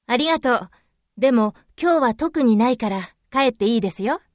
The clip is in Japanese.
ありがとう。でも今日は特にないから帰っていいですよ。